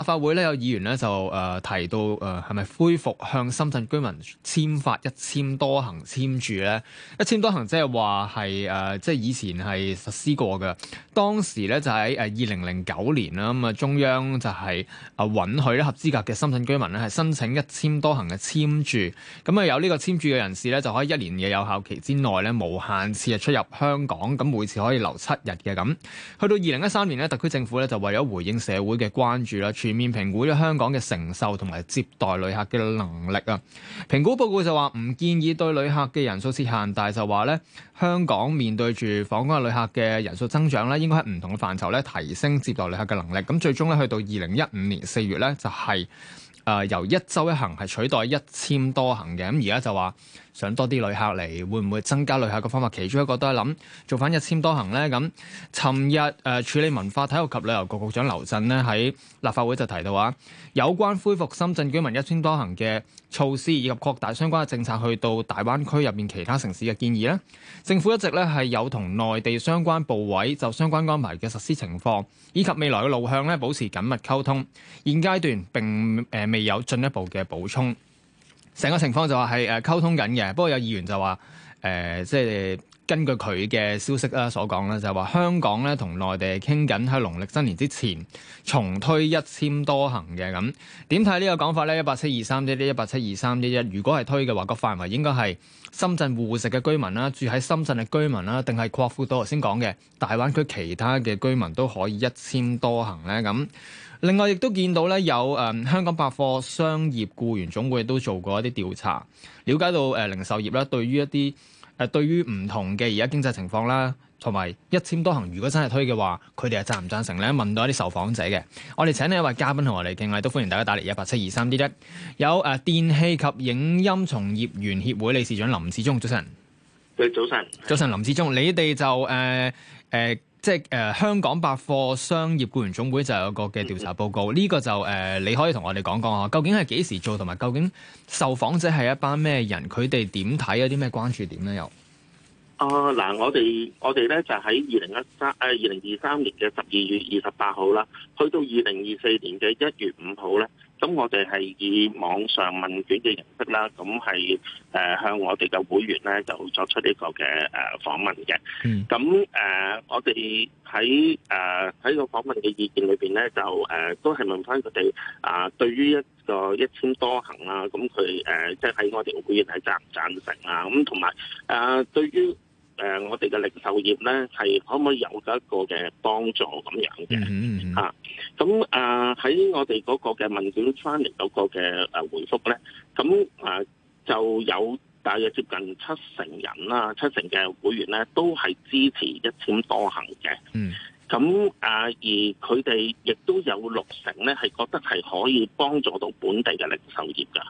法會咧有議員咧就提到係咪恢復向深圳居民簽發一簽多行簽注咧？一簽多行即係話係即係以前係實施過嘅，當時咧就喺2009年啦，咁啊中央就係允許咧合資格嘅深圳居民咧係申請一簽多行嘅簽注，咁啊有呢個簽注嘅人士咧就可以1年嘅有效期之內咧無限次出入香港，咁每次可以留7日嘅咁。去到2013年咧，特區政府咧就為咗回應社會嘅關注啦，全面評估咗香港嘅承受同埋接待旅客嘅能力啊。評估報告就話唔建議對旅客嘅人數設限，但係就話咧香港面對住訪港嘅旅客嘅人數增長咧，應該喺唔同嘅範疇咧提升接待旅客嘅能力。咁最終咧去到2015年4月咧就係由1週1行係取代一簽多行嘅。咁而家就話想多啲旅客嚟，會唔會增加旅客嘅方法？其中一個都係諗做翻一簽多行咧。咁尋日處理文化體育及旅遊局局長劉震呢喺立法會就提到話，有關恢復深圳居民一簽多行嘅措施以及擴大相關嘅政策去到大灣區入面其他城市嘅建議咧，政府一直咧係有同內地相關部委就相關安排嘅實施情況以及未來嘅路向咧保持緊密溝通。現階段並未有進一步嘅補充。成個情況就話係溝通緊嘅，不過有議員就話即係根據佢嘅消息啦所講啦，就係話香港咧同內地傾緊喺農曆新年之前重推一簽多行嘅。咁點睇呢個講法咧？1872311 1872311，如果係推嘅話，個範圍應該係深圳戶籍嘅居民啦，住喺深圳嘅居民啦，定係擴闊到頭先講嘅大灣區其他嘅居民都可以一簽多行咧？咁另外亦都見到咧有香港百貨商業僱員總會都做過一啲調查，了解到零售業啦對於一啲對於唔同嘅而家經濟情況啦，同埋一簽多行如果真係推嘅話，佢哋係贊唔贊成咧？問到一啲受訪者嘅，我哋請呢一位嘉賓同我哋傾下，都歡迎大家打嚟1872311。有電器及影音從業員協會理事長林志忠，早晨。 早晨。 早晨，林志忠，你哋就即係香港百貨商業僱員總會就有個嘅調查報告，呢個就你可以同我哋講講啊，究竟係幾時做，同埋究竟受訪者係一班咩人，佢哋點睇，有啲咩關注點咧？又嗱，我哋咧就喺2023年嘅12月28號啦，去到2024年嘅1月5號咧。咁我哋係以網上問卷嘅形式啦，咁係向我哋嘅會員咧就作出呢個嘅訪問嘅。咁我哋喺個訪問嘅意見裏邊咧，就都係問翻佢哋對於一個一簽多行啦，咁佢即係喺我哋嘅會員係贊唔贊成啊？咁同埋對於我哋嘅零售業咧，係可唔可以有一個嘅幫助咁樣嘅嚇？咁喺我哋嗰個嘅問卷翻嚟嗰個嘅回覆咧，咁就有大約接近70%人啦，70%嘅會員咧都係支持一簽多行嘅。咁而佢哋亦都有60%咧係覺得係可以幫助到本地嘅零售業㗎。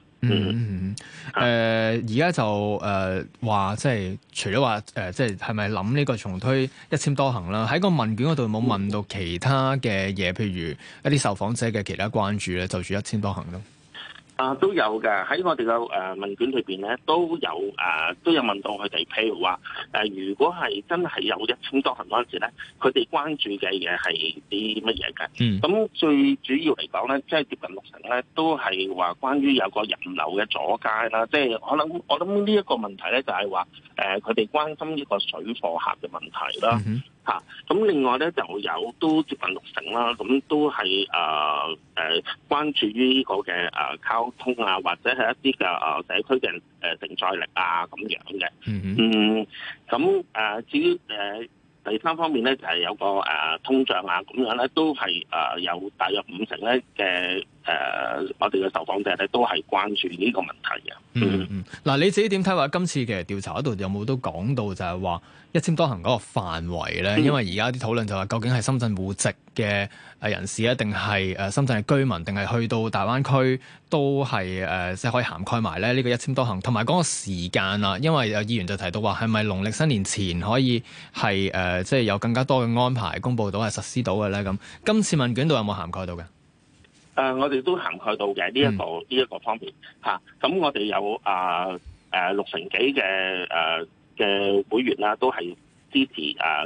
而家就話即係除咗話即係係咪諗呢個重推一簽多行啦？喺個問卷嗰度冇問到其他嘅嘢，譬如一啲受訪者嘅其他關注咧，就住一簽多行咯。 都有嘅，喺我哋嘅問卷裏邊咧，都有問到佢哋，譬如話如果係真係有一簽多行嗰陣時咧，佢哋關注嘅嘢係啲乜嘢嘅？咁最主要嚟講咧，即係接近60%咧，都係話關於有個人流嘅阻街啦。即係我諗呢一個問題咧，就係話佢哋關心呢個水貨客嘅問題啦。咁另外咧就有都接近60%啦，咁都係關注於呢個嘅交通啊，或者係一啲嘅社區嘅承載力啊咁樣嘅。咁至於第三方面咧，就係有個通脹啊咁樣咧，都係有大約50%咧嘅我哋嘅受訪者咧都係關注呢個問題嘅。 嗱，你自己點睇話今次嘅調查嗰度有冇都講到就係話一簽多行嗰個範圍咧？因為而家啲討論就話究竟係深圳戶籍嘅人士啊，定係深圳嘅居民，定係去到大灣區都係即係可以涵蓋埋咧呢個一簽多行，同埋嗰個時間啊。因為有議員就提到話係咪農曆新年前可以係即係有更加多嘅安排公佈到係實施到嘅咧？咁今次問卷度有冇涵蓋到嘅？ 我哋都涵蓋到嘅呢一個方面嚇。咁我哋有60%幾嘅會員啦，都係支持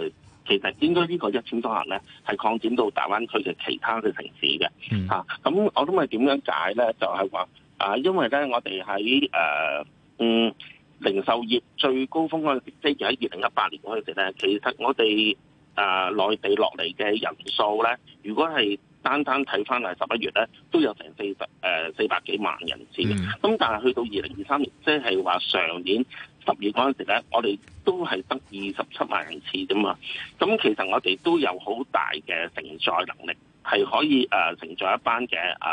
其實應該呢個1000多行咧係擴展到大灣區嘅其他嘅城市嘅咁我諗係點樣解咧？就係話因為咧我哋喺零售業最高峰嗰陣時，即係喺2018年嗰陣時咧，其實我哋內地落嚟嘅人數咧，如果係單睇翻係11月咧，都有成400幾萬人次嘅。咁但係去到2023年，即係話上年10月嗰陣時咧，我哋都係得27萬人次啫嘛。咁其實我哋都有好大嘅承載能力，係可以承載一班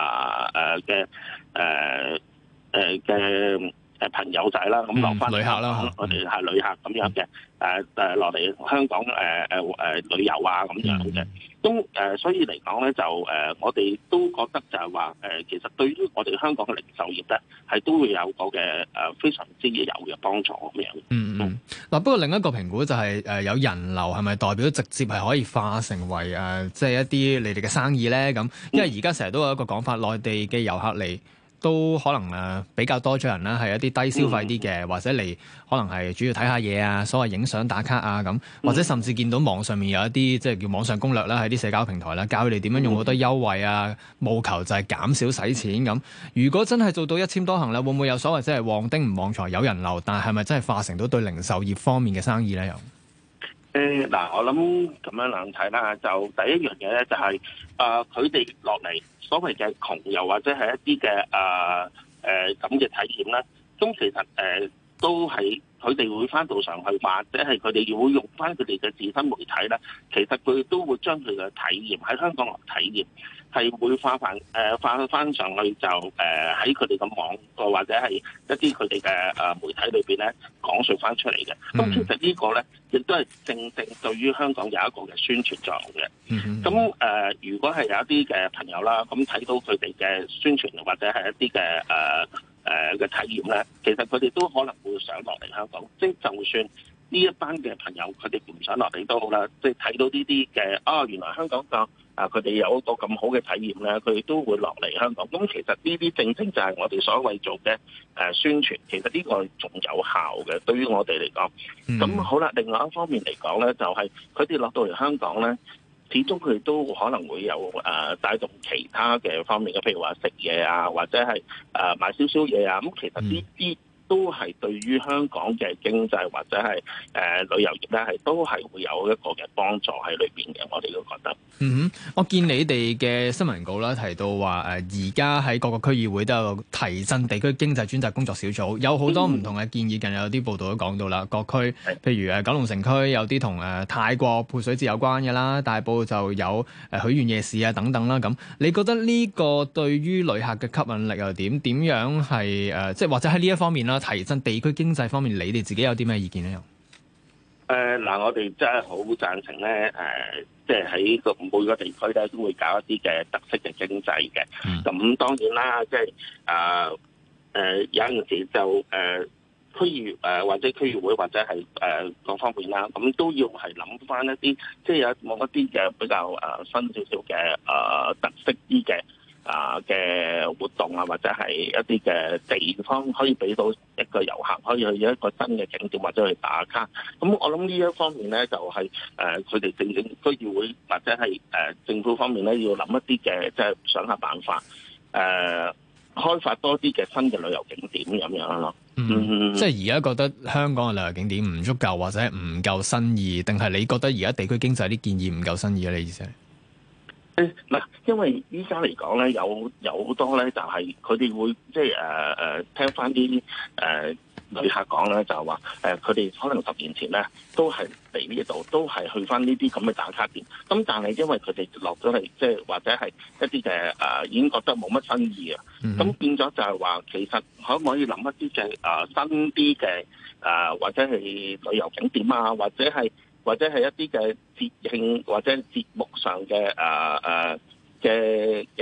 嘅朋友仔啦，咁落翻旅客啦， 我哋係旅客咁樣嘅，落嚟香港旅遊啊咁樣嘅。咁所以嚟講咧，就我哋都覺得就係話其實對於我哋香港嘅零售業咧，係都會有個嘅非常之有嘅幫助咁樣。 嗱，不過另一個評估就係有人流係咪代表直接係可以化成為即係一啲你哋嘅生意咧？咁因為而家成日都有一個講法，內地嘅遊客嚟都可能比較多咗人啦，係一啲低消費啲嘅，或者嚟可能係主要睇下嘢啊，所謂影相打卡啊咁，或者甚至見到網上面有一啲即係叫網上攻略啦，喺啲社交平台啦，教佢哋點樣用好多優惠啊，務求就係減少使錢咁。如果真係做到1000多行啦，會唔會有所謂即係旺丁唔旺財有人流，但係咪真係化成到對零售業方面嘅生意咧？又我諗咁樣兩睇啦，就第一樣嘢咧就係佢哋落嚟所謂嘅窮遊或者係一啲嘅咁嘅體驗咧，咁其實都係佢哋會翻到上去，或者係佢哋會用翻佢哋嘅自身媒體咧，其實佢都會將佢嘅體驗喺香港嚟體驗，係會化翻上去，就喺佢哋嘅網個或者係一啲佢哋嘅媒體裏邊咧講述翻出嚟嘅。咁其實呢個咧亦都係正對於香港有一個嘅宣傳作用嘅。咁如果係有一啲嘅朋友啦，咁睇到佢哋嘅宣傳或者係一啲嘅嘅體驗咧，其實佢哋都可能會想落嚟香港。即係就算呢一班嘅朋友，佢哋唔想落嚟都好啦，即係睇到呢啲嘅原來香港佢哋有一個咁好嘅體驗咧，佢哋都會落嚟香港。咁其實呢啲正正就係我哋所謂做嘅宣傳，其實呢個仲有效嘅，對於我哋嚟講。咁好啦，另外一方面嚟講咧，就係佢哋落到嚟香港咧，始終佢哋都可能會有帶動其他嘅方面嘅，譬如話食嘢啊，或者係買少少嘢啊。咁其實呢啲都係對於香港嘅經濟或者係旅遊業咧，係都係會有一個嘅幫助喺裏邊嘅。我哋都覺得。 我見你哋嘅新聞稿啦，提到話而家喺各個區議會都有提振地區經濟專責工作小組，有好多唔同嘅建議。近日有啲報道都講到啦，各區譬如九龍城區有啲同泰國潑水節有關嘅啦，大埔就有許願夜市啊等等啦。咁你覺得呢個對於旅客嘅吸引力又點？點樣係即係或者喺呢一方面啦，提振地區經濟方面，你哋自己有啲咩意見咧？ 我哋真係好贊成咧，即係喺每個地區咧都會搞一啲嘅特色嘅經濟嘅。咁當然啦，即係有陣時就區議或者區議會或者係各方面啦，咁都要係諗翻一啲，即係有冇一啲嘅比較新少少嘅特色啲嘅嘅活動啊，或者係一啲嘅地方可以俾到一個遊客可以去一個新嘅景點或者去打卡。咁我諗呢一方面咧，就係佢哋正區議會或者係政府方面咧，要諗一啲嘅即係想下辦法，開發多啲嘅新嘅旅遊景點咁樣咯。 即係而家覺得香港嘅旅遊景點唔足夠或者唔夠新意，定係你覺得而家地區經濟啲建議唔夠新意咧？你意思係？ 嗱，因為依家嚟講咧，有好多咧，就係佢哋會即係聽翻啲旅客講咧，就係話佢哋可能10年前咧都係嚟呢度，都係去翻呢啲咁嘅打卡點。咁但係因為佢哋落咗嚟，即係或者係一啲嘅已經覺得冇乜新意啊。咁變咗就係話，其實可唔可以諗一啲嘅新啲嘅或者係旅遊景點啊，或者係一啲嘅節慶或者節目上嘅嘅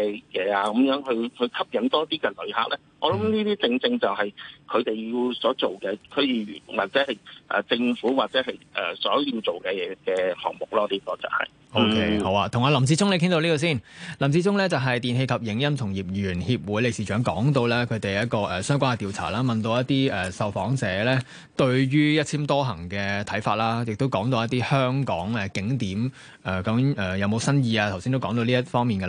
啊，咁樣去吸引多啲嘅旅客咧。我諗呢啲正正就係佢哋要所做嘅區議員或者係政府或者係所要做嘅嘢嘅項目咯。呢個就係。 OK， 好啊，同阿林志忠你傾到呢個先。林志忠咧就係電器及影音從業員協會理事長，講到咧佢哋一個相關嘅調查啦，問到一啲受訪者咧對於一簽多行嘅睇法啦，亦都講到一啲香港景點究竟有冇新意啊？頭先都講到呢一方面嘅。